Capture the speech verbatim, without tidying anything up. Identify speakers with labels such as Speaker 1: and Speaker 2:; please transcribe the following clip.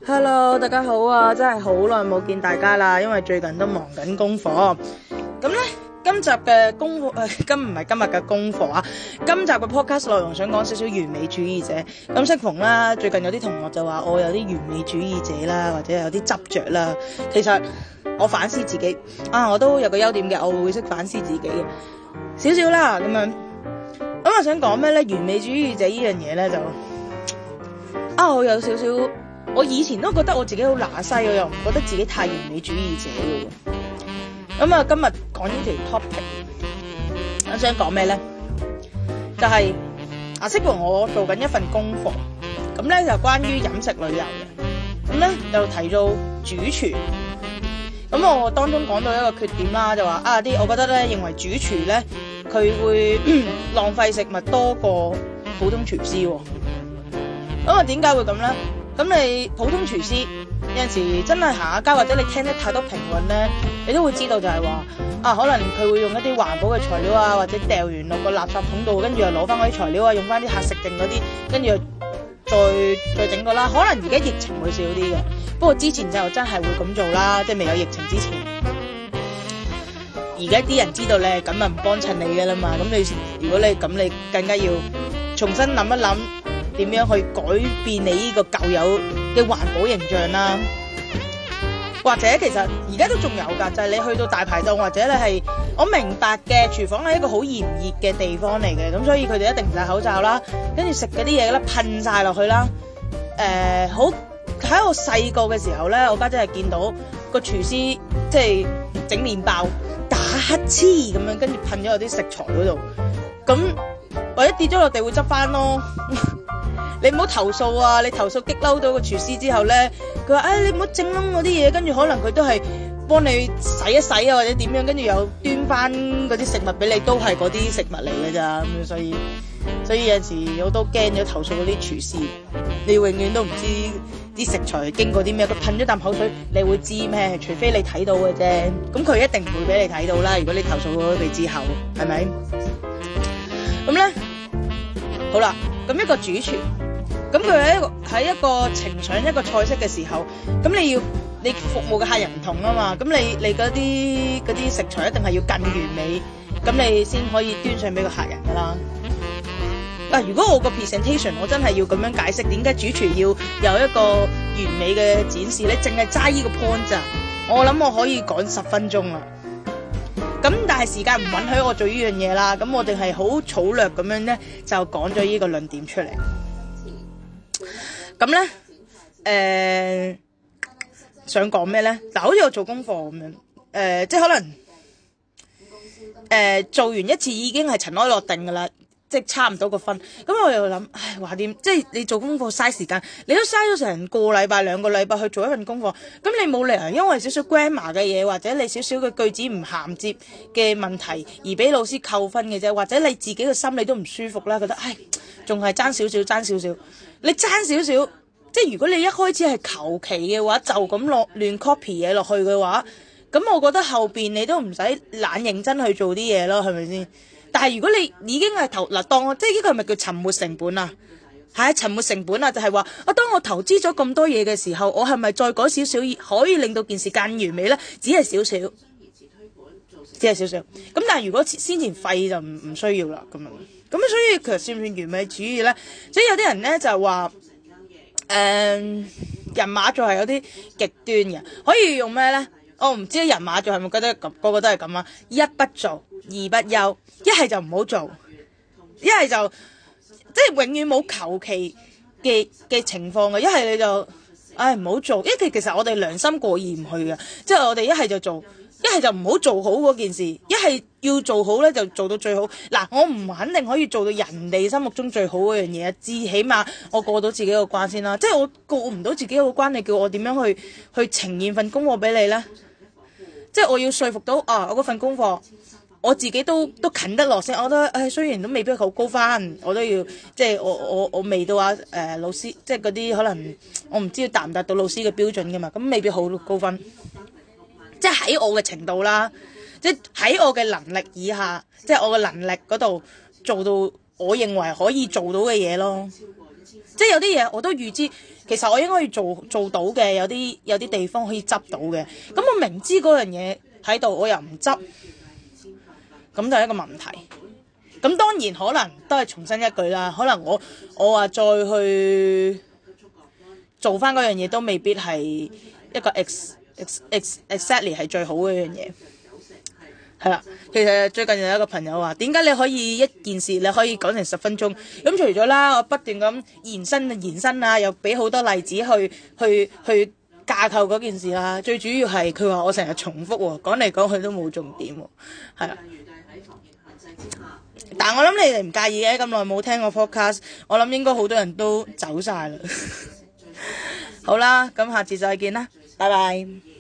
Speaker 1: Hello，大家好啊！真係好耐冇見大家啦，因為最近都忙緊功課。咁呢，今集嘅功課誒、呃，今唔係今日嘅功課啊。今集嘅 podcast 內容想講少少完美主義者。咁適逢啦，最近有啲同學就話我有啲完美主義者啦，或者有啲執着啦。其實我反思自己啊，我都有個優點嘅，我會識反思自己嘅少少啦。咁樣咁我想講咩呢？完美主義者呢樣嘢呢，就啊，我有少少。我以前都覺得我自己好乸西，我又唔覺得自己太完美主義者嘅。咁啊，今日講呢條 topic， 我想講咩咧？就係、是、啊，適逢我做緊一份功課，咁咧就關於飲食旅遊嘅。咁咧就提到主廚，咁我當中講到一個缺點啦，就話啊啲，我覺得咧認為主廚咧佢會浪費食物多過普通廚師喎。咁啊，點解會咁咧？咁你普通廚師有陣時真係行下街，或者你聽得太多評論咧，你都會知道就係話啊，可能佢會用一啲環保嘅材料啊，或者掉完落個垃圾桶度，跟住又攞翻嗰啲材料啊，用翻啲客食剩嗰啲，跟住又再再整個啦。可能而家疫情會少啲嘅，不過之前就真係會咁做啦，即係未有疫情之前。而家啲人知道咧，咁咪唔幫襯你嘅啦嘛。咁你如果你咁，你更加要重新諗一諗。點樣去改變你呢個舊有嘅環保形象啦？或者其實而家都仲有㗎，就係、是、你去到大排檔，或者你係我明白嘅，廚房係一個好炎熱嘅地方嚟嘅，咁所以佢哋一定唔戴口罩啦，跟住食嗰啲嘢咧噴晒落去啦。誒、呃，好喺我細個嘅時候咧，我家姐係見到個廚師即係整麵包打乞嗤咁樣，跟住噴咗落啲食材嗰度，咁或者跌咗落地會執翻咯。你唔好投訴啊！你投訴激嬲到個廚師之後咧，佢話：哎，你唔好整燶嗰啲嘢，跟住可能佢都係幫你洗一洗啊，或者點樣，跟住又端翻嗰啲食物俾你，都係嗰啲食物嚟嘅咋咁，所以所以有陣時我都驚咗投訴嗰啲廚師，你永遠都唔知啲食材經過啲咩，佢噴咗啖口水，你會知咩？除非你睇到嘅啫，咁佢一定唔會俾你睇到啦。如果你投訴咗佢之後，係咪？咁咧，好啦，咁一個主廚。咁佢喺一個喺一個呈上一個菜式嘅時候，咁你要你服務嘅客人唔同啊嘛，咁你你嗰啲嗰啲食材一定係要更完美，咁你先可以端上俾個客人噶啦。啊，如果我個 presentation 我真係要咁樣解釋點解主廚要有一個完美嘅展示，你淨係齋呢個 point 咋，我諗我可以講十分鐘啦。咁但係時間唔允許我做呢樣嘢啦，咁我哋係好草略咁樣咧就講咗呢個論點出嚟。咁咧，誒、呃，想講咩咧？嗱，好似我做功課咁樣，誒、呃，即係可能，誒、呃，做完一次已經係塵埃落定噶啦，即係差唔多個分。咁我又諗，唉，話點？即係你做功課嘥時間，你都嘥咗成個禮拜、兩個禮拜去做一份功課，咁你冇理由因為少少 grammar 嘅嘢，或者你少少嘅句子唔銜接嘅問題而俾老師扣分嘅啫，或者你自己嘅心理都唔舒服啦，覺得唉，仲係爭少少，爭少少。你爭少少，即係如果你一開始係求其嘅話，就咁落亂 copy 嘢落去嘅話，咁我覺得後邊你都唔使懶認真去做啲嘢咯，係咪先？但係如果你已經係投嗱，當我即係呢個係咪叫沉沒成本啊？係啊，沉沒成本啊，就係話啊，當我投資咗咁多嘢嘅時候，我係咪再改少少可以令到件事更完美咧？只係少少，只係少少。咁但係如果先前廢就唔唔需要啦，咁樣。咁所以其實算唔算完美主義咧？所以有啲人咧就話，誒、呃、人馬座係有啲極端嘅，可以用咩咧？我唔知人馬座係咪覺得咁個個都係咁啊？一不做，二不休，一係就唔好做，一係就即係永遠冇求其嘅嘅情況嘅，一係你就唉唔好做，因為其實我哋良心過意唔去嘅，即係我哋一係就做。一係就唔好做好嗰件事，一係要做好咧就做到最好。嗱，我唔肯定可以做到人哋心目中最好嗰樣嘢，至起碼我過到自己個關先啦。即係我過唔到自己個關，你叫我點樣去去呈現份功課俾你咧？即係我要說服到啊，我嗰份功課我自己都都近得落先。我覺得誒，雖然都未必好高分，我都要即係我我我未到啊誒、呃、老師，即係嗰啲可能我唔知達唔達到老師嘅標準噶嘛，咁未必好高分。即係喺我嘅程度啦，即係喺我嘅能力以下，即係我嘅能力嗰度做到我認為可以做到嘅嘢咯。即係有啲嘢我都預知， 其實我應該要做做到嘅，有啲有啲地方可以執到嘅。咁我明知嗰樣嘢喺度，我又唔執，咁就係一個問題。咁當然可能都係重申一句啦，可能我我話再去做翻嗰樣嘢，都未必係一個 ex ex ex exactly 係最好嘅一樣嘢。係啦，其實最近有一個朋友話，點解你可以一件事你可以講成十分鐘？咁除咗啦，我不斷咁延伸延伸啊，又俾好多例子去去去架構嗰件事啦。最主要係佢話我成日重複喎，講嚟講去都冇重點喎，係啦。但係我諗你哋唔介意嘅，咁耐冇聽過 podcast， 我諗應該好多人都走晒啦。好啦，咁下次再見啦，拜拜。